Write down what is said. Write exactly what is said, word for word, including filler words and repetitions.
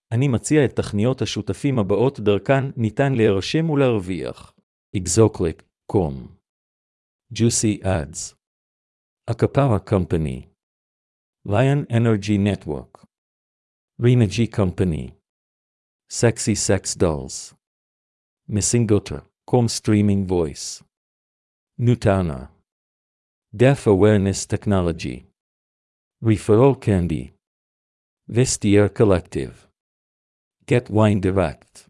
אני מציע את תכניות השותפים הבאות דרכן ניתן להירשם ולהרוויח. Exoclick דוט קום Juicy Ads Acapara Company Lion Energy Network Renergy Company Sexy Sex Dolls Missingota Com Streaming Voice Nutana Deaf Awareness Technology Referral Candy Vestiaire Collective Get Wine Direct